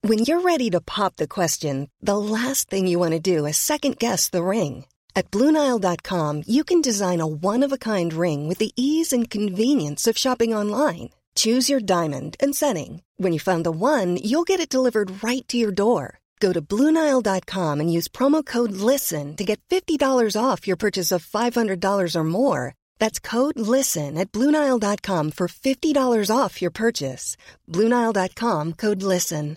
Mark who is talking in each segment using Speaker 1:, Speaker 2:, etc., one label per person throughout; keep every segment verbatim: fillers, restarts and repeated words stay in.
Speaker 1: When you're ready to pop the question, the last thing you want to do is second-guess the ring. At Blue Nile dot com, you can design a one-of-a-kind ring with the ease and convenience of shopping online. Choose your diamond and setting. When you find the one, you'll get it delivered right to your door. Go to Blue Nile dot com and use promo code LISTEN to get fifty dollars off your purchase of five hundred dollars or more. That's code LISTEN at Blue Nile dot com for fifty dollars off your purchase. Blue Nile dot com, code LISTEN.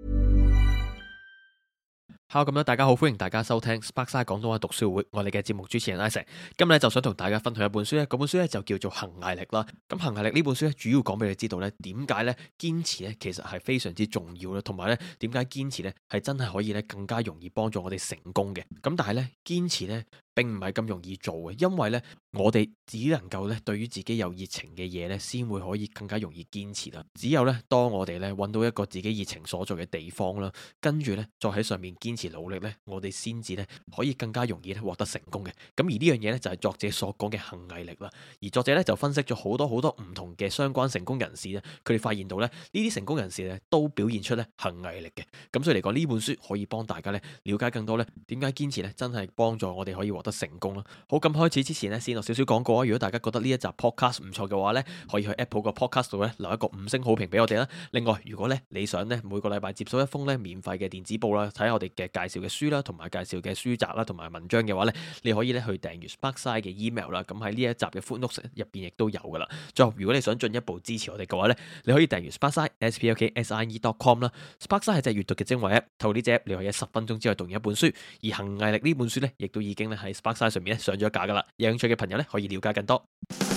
Speaker 2: Hello， 咁大家好，歡迎大家收聽 Sparkside 廣東話讀書會，我哋嘅節目主持人 Isaac， 今日咧就想同大家分享一本書咧，嗰本書咧就叫做《恒毅力》啦。咁《恒毅力》呢本書咧，主要講俾你知道咧，點解咧堅持咧其實係非常之重要啦，同埋咧點解堅持咧係真係可以咧更加容易幫助我哋成功嘅。咁但係咧堅持咧並唔係咁容易做嘅，因為咧我哋只能夠咧對於自己有熱情嘅嘢咧，先會可以更加容易堅持啦。只有咧當我哋咧揾到一個自己熱情所在嘅地方啦，跟住咧再喺上面堅持努力咧，我哋先至咧可以更加容易咧獲得成功嘅。咁而呢樣嘢咧就係作者所講嘅恒毅力啦。而作者咧就分析咗好多好多唔同嘅相關成功人士咧，佢哋發現到咧呢啲成功人士咧都表現出咧恒毅力嘅。咁所以嚟講呢本書可以幫大家咧了解更多咧點解堅持咧真係幫助我哋可以獲得成功啦。好，咁開始之前咧先落少少廣告啊。如果大家覺得呢一集 podcast 唔錯嘅話咧，可以去 Apple 個 podcast 度咧留一個五星好評俾我哋啦。另外，如果咧你想咧每個禮拜接收一封咧免費嘅電子報啦，睇下我哋嘅介紹嘅書啦，同埋介紹嘅書集啦，同埋文章嘅話咧，你可以咧去訂閱 Sparkside 嘅 email 啦。咁喺呢一集嘅 footnotes 入邊亦都有噶啦。最後，如果你想進一步支持我哋嘅話咧，你可以訂閱 Sparkside s p l k s i e dot com 啦。Sparkside 係隻閱讀嘅精華 app， 透過呢隻 app 你可以喺十分鐘之內讀完一本書。而恒毅力呢本書咧，亦都已經咧喺 Sparkside 上面咧上咗架噶啦。有興趣嘅朋友咧，可以了解更多。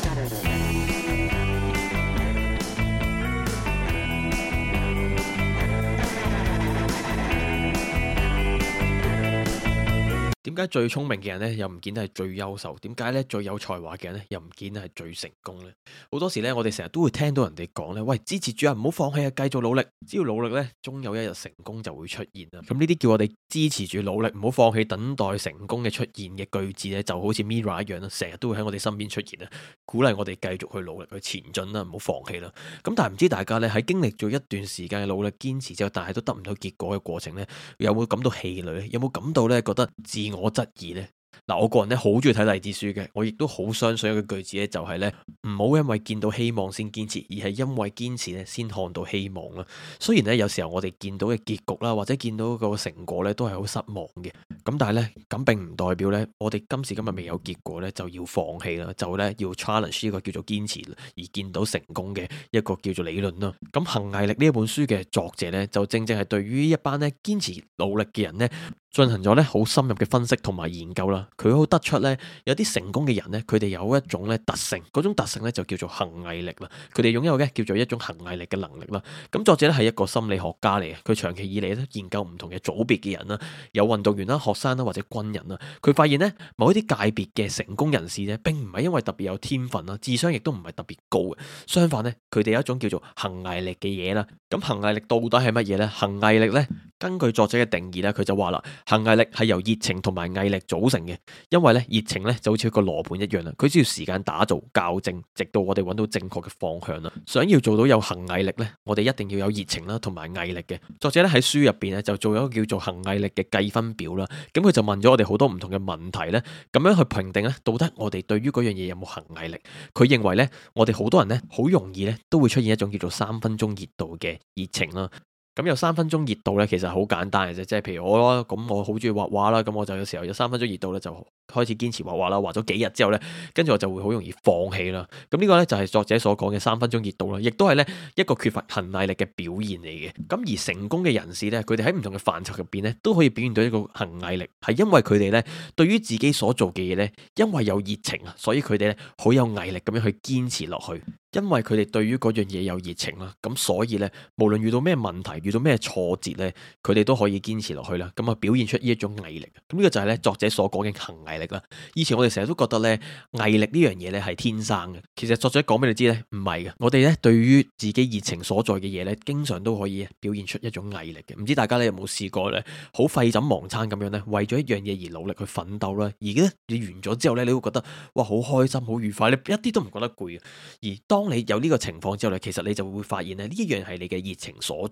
Speaker 2: 點解最聰明嘅人咧，又唔見得係最優秀？點解咧最有才華嘅人咧，又唔見得係最成功咧？好多時咧，我哋成日都會聽到人哋講咧，喂，支持住啊，唔好放棄啊，繼續努力，只要努力咧，終有一日成功就會出現啦。咁呢啲叫我哋支持住努力，唔好放棄，等待成功嘅出現嘅句子咧，就好似 Mirror 一樣啦，成日都會喺我哋身邊出現啊，鼓勵我哋繼續去努力去前進啦，唔好放棄啦。咁但係唔知大家咧喺經歷咗一段時間嘅努力堅持之後，但係都得唔到結果嘅過程咧，有冇感到氣餒咧？有冇感到咧覺得自我質疑呢？嗱，我個人咧好中意睇勵志書嘅，我亦都好相信一個句子咧，就係咧唔好因為見到希望先堅持，而係因為堅持咧先看到希望啦。雖然咧有時候我哋見到嘅結局啦，或者見到個成果咧都係好失望嘅，咁但係咧咁並唔代表咧我哋今時今日未有結果咧就要放棄啦，就咧要 challenge 呢個叫做堅持而見到成功嘅一個叫做理論啦。咁恒毅力呢一本書嘅作者咧就正正係對於一班咧堅持努力嘅人咧進行咗咧好深入嘅分析同埋研究啦。佢好得出咧，有啲成功嘅人咧，佢哋有一種咧特性，嗰種特性咧就叫做恒毅力啦。佢哋擁有嘅叫做一種恒毅力嘅能力啦。咁作者咧係一個心理學家嚟嘅，佢長期以嚟咧研究唔同嘅組別嘅人啦，有運動員啦、學生啦或者軍人啦。佢發現咧，某一啲界別嘅成功人士咧，並唔係因為特別有天分啦，智商亦都唔係特別高嘅。相反咧，佢哋有一種叫做恒毅力嘅嘢啦。咁恒毅力到底係乜嘢咧？恒毅力咧，根據作者嘅定義咧，佢就話啦，恒毅力係由熱情同埋毅力組成嘅。因為咧熱情咧就好似一個羅盤一樣啦，佢需要時間打造校正，直到我哋揾到正確嘅方向啦。想要做到有恒毅力咧，我哋一定要有熱情啦，同埋毅力嘅。作者咧喺書入邊咧就做咗一個叫做恒毅力嘅計分表啦。咁佢就問咗我哋好多唔同嘅問題咧，咁樣去評定咧，到底我哋對於嗰樣嘢有冇恒毅力？佢認為咧，我哋好多人咧好容易咧都會出現一種叫做三分鐘熱度嘅熱情啦。咁有三分鐘熱度咧，其實好簡單嘅啫，即係譬如我啦，咁我好中意畫畫啦，咁我就有時候有三分鐘熱度咧，就開始堅持畫畫啦，畫咗幾日之後咧，跟住我就會好容易放棄啦。咁呢個咧就係作者所講嘅三分鐘熱度啦，亦都係咧一個缺乏恒毅力嘅表現嚟嘅。咁而成功嘅人士咧，佢哋喺唔同嘅範疇入邊咧，都可以表現到一個恒毅力，係因為佢哋咧對於自己所做嘅嘢咧，因為有熱情啊，所以佢哋咧好有毅力咁樣去堅持落去。因為佢哋對於嗰樣嘢有熱情啦，咁所以咧，無論遇到咩問題，遇到咩挫折咧，佢哋都可以堅持落去啦。咁啊，表現出呢一種毅力。咁呢個就係咧作者所講嘅恒毅力啦。以前我哋成日都覺得咧毅力呢樣嘢咧係天生嘅，其實作者講俾你知咧唔係嘅。我哋咧對於自己熱情所在嘅嘢咧，經常都可以表現出一種毅力嘅。唔知大家咧有冇試過咧，好廢寢忘餐咁樣咧，為咗一樣嘢而努力去奮鬥啦。而咧你完咗之後咧，你會覺得哇好開心、好愉快，你一啲都唔覺得攰嘅。而當你有呢個情況之後咧，其實你就會發現咧呢一樣係你嘅熱情所在嘅。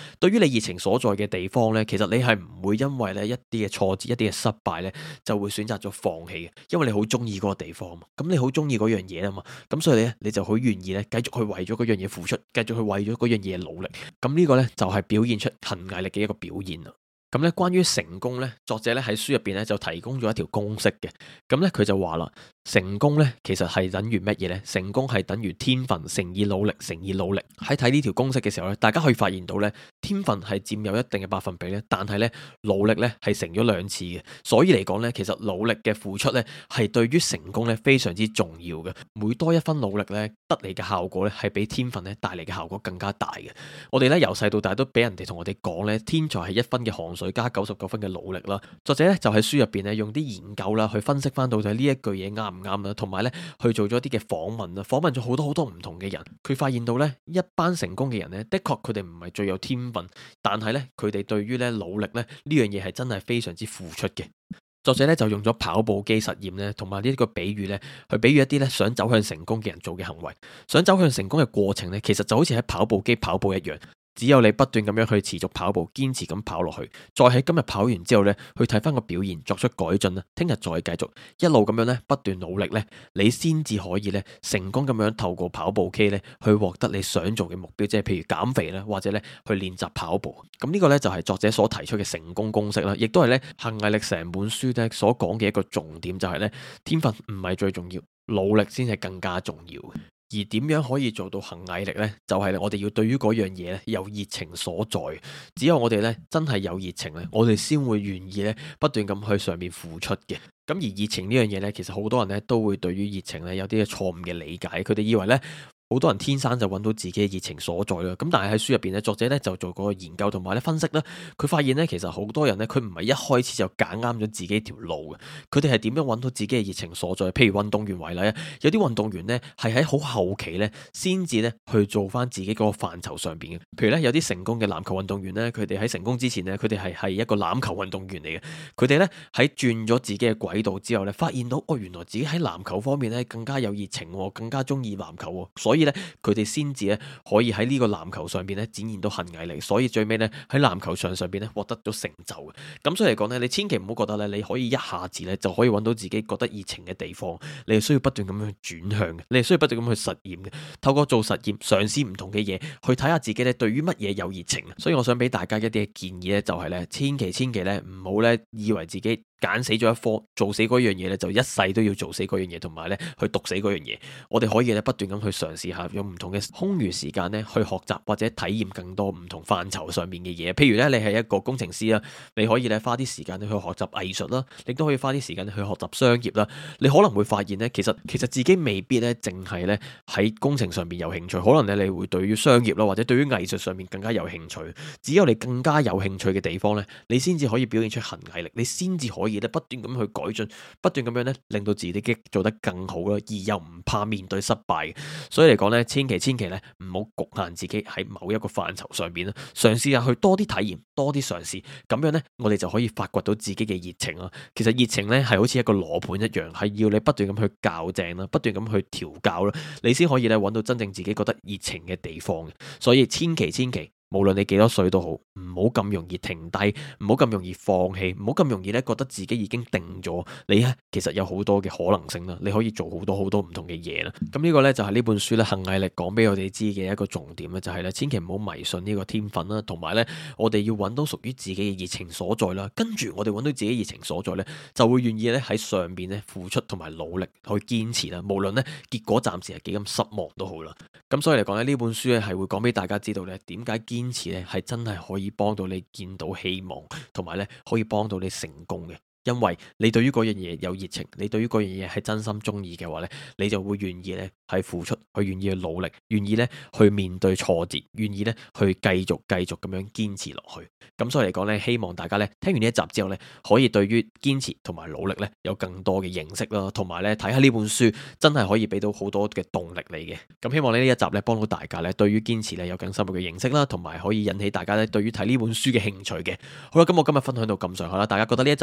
Speaker 2: 對於你熱情所在嘅地方呢，其實你係唔會因為呢一啲嘅挫折、一啲嘅失敗呢，就會選擇咗放棄嘅，因為你好中意嗰個地方嘛，咁你好中意嗰樣嘢啊嘛，咁所以咧你就好願意咧繼續去為咗嗰樣嘢付出，繼續去為咗嗰樣嘢努力，咁呢個呢，就係表現出恆毅力嘅一個表現啦。咁咧，關於成功咧，作者咧喺書入邊咧就提供咗一條公式嘅。咁咧佢就話啦，成功咧其實係等於乜嘢咧？成功係等於天分乘以努力乘以努力。喺睇呢條公式嘅時候咧，大家可以發現到咧，天分係佔有一定嘅百分比咧，但係咧努力咧係成咗兩次嘅。所以嚟講咧，其實努力嘅付出咧係對於成功咧非常之重要嘅。每多一分努力咧，得嚟嘅效果咧係比天分咧帶嚟嘅效果更加大嘅。我哋咧由細到大都俾人哋同我哋講咧，天才係一分嘅汗水加九十九分嘅努力啦。作者咧就喺書入邊咧用啲研究啦去分析翻到底呢一句嘢啱唔啱啦，同埋咧去做咗一啲嘅訪問啦，訪問咗好多好多唔同嘅人。佢發現到咧一班成功嘅人咧，的確佢哋唔係最有天分，但係咧佢哋對於咧努力咧呢樣嘢係真係非常之付出嘅。作者咧就用咗跑步機實驗咧，同埋呢個比喻咧，去比喻一啲咧想走向成功嘅人做嘅行為。想走向成功嘅過程咧，其實就好似喺跑步機跑步一樣。只有你不斷咁樣去持續跑步，堅持咁跑落去，再喺今日跑完之後呢，去睇翻個表現，作出改進啦。聽日再繼續，一路咁樣呢，不斷努力呢，你先至可以呢，成功咁樣透過跑步機呢，去獲得你想做嘅目標，即係譬如減肥啦，或者呢去練習跑步。咁呢個呢，就係作者所提出嘅成功公式啦，亦都係呢恆毅力成本書呢所講嘅一個重點，就係呢天分唔係最重要，努力先係更加重要。而點樣可以做到恆毅力呢？就係我哋要對於嗰樣嘢咧有熱情所在。只有我哋咧真係有熱情咧，我哋先會願意咧不斷咁去上面付出嘅。咁而熱情呢樣嘢咧，其實好多人咧都會對於熱情咧有啲嘅錯誤嘅理解，佢哋以為咧，好多人天生就揾到自己嘅熱情所在啦，咁但係喺書入邊咧，作者咧就做過研究同埋咧分析啦，佢發現咧其實好多人咧佢唔係一開始就揀啱咗自己條路嘅，佢哋係點樣揾到自己嘅熱情所在？譬如運動員為例啊，有啲運動員咧係喺好後期咧先至咧去做翻自己嗰個範疇上邊嘅，譬如咧有啲成功嘅籃球運動員咧，佢哋喺成功之前咧，佢哋係係一個籃球運動員嚟嘅，佢哋咧喺轉咗自己嘅軌道之後咧，發現到哦原來自己喺籃球方面咧更加有熱情，更加中意籃球，所以佢哋先至咧可以喺呢個籃球上邊咧展現到恆毅力，所以最尾咧喺籃球場上邊咧獲得咗成就嘅。咁所以嚟講咧，你千祈唔好覺得咧你可以一下子咧就可以揾到自己覺得熱情嘅地方，你係需要不斷咁樣轉向嘅，你係需要不斷咁去實驗嘅，透過做實驗嘗試唔同嘅嘢，去睇下自己咧對於乜嘢有熱情。所以我想俾大家一啲嘅建議咧，就係咧千祈千祈咧唔好咧以為自己揀死咗一科，做死嗰樣嘢咧，就一世都要做死嗰樣嘢，同埋咧去讀死嗰樣嘢。我哋可以咧不斷咁去嘗試下，用唔同嘅空餘時間咧去學習或者體驗更多唔同範疇上面嘅嘢。譬如咧，你係一個工程師啦，你可以咧花啲時間去學習藝術啦，亦都可以花啲時間去學習商業啦。你可能會發現咧，其實其實自己未必咧淨係咧喺工程上面有興趣，可能咧你會對於商業啦或者對於藝術上面更加有興趣。只有你更加有興趣嘅地方咧，你先至可以表現出恆毅力，你先至可以咧不斷咁去改進，不斷咁樣咧令到自己做得更好啦，而又唔怕面對失敗。所以嚟講咧，千祈千祈咧唔好局限自己喺某一個範疇上邊啦，嘗試下去多啲體驗，多啲嘗試，咁樣咧我哋就可以發掘到自己嘅熱情啦。其實熱情咧係好似一個羅盤一樣，係要你不斷咁去校正啦，不斷咁去調教啦，你先可以咧揾到真正自己覺得熱情嘅地方嘅。所以千祈千祈，無論你幾多歲都好，唔好咁容易停低，唔好咁容易放棄，唔好咁容易咧覺得自己已經定咗。你咧其實有好多嘅可能性啦，你可以做好多好多唔同嘅嘢啦。咁呢個咧就係呢本書咧恆毅力講俾我哋知嘅一個重點咧，就係咧千祈唔好迷信呢個天分啦，同埋咧我哋要揾到屬於自己嘅熱情所在啦。跟住我哋揾到自己熱情所在咧，就會願意咧喺上邊咧付出同埋努力去堅持啦。無論咧結果暫時係幾咁失望都好啦。咁所以嚟講咧，呢本書咧係會講俾大家知道咧點解堅堅持咧係真係可以幫到你見到希望，同埋咧可以幫到你成功嘅。因為你對於嗰樣嘢有熱情，你對於嗰樣嘢係真心中意嘅話咧，你就會願意咧係付出，去願意去努力，願意咧去面對挫折，願意咧去繼續繼續咁樣堅持落去。咁所以嚟講咧，希望大家咧聽完呢一集之後咧，可以對於堅持同埋努力咧有更多嘅認識啦，同埋咧睇下呢本書真係可以俾到好多嘅動力你嘅。咁希望呢一集咧幫到大家咧對於堅持咧有更深入嘅認識啦，同埋可以引起大家咧對於睇呢本書嘅興趣嘅。好啦，咁我今日分享到咁上下啦，大家覺得呢一集唔錯嘅話，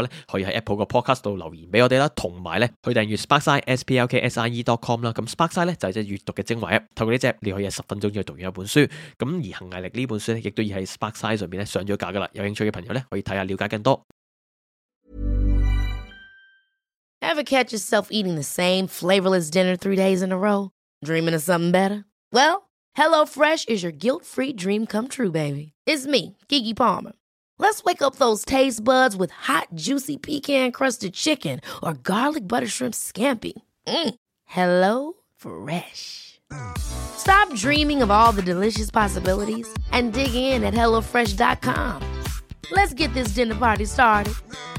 Speaker 2: 話咧，可以喺 Apple 個 Podcast 度留言俾我哋啦，同埋咧去訂閱 Sparkside S P L K S I E dot com 啦。咁 Sparkside 咧就係隻閱讀嘅精華 App，透過呢隻你可以喺十分鐘之內讀完一本書。咁而行毅力呢本書咧，亦都已喺 Sparkside 上邊咧上咗架噶啦。有興趣嘅朋友咧可以睇下了解更多。
Speaker 3: Ever catch yourself eating the same flavorless dinner three days in a row? Dreaming of something better? Well, HelloFresh is your guilt-free dream come true, baby. It's me, Keke Palmer. Let's wake up those taste buds with hot, juicy pecan-crusted chicken or garlic butter shrimp scampi. Mm. Hello Fresh. Stop dreaming of all the delicious possibilities and dig in at hello fresh dot com. Let's get this dinner party started.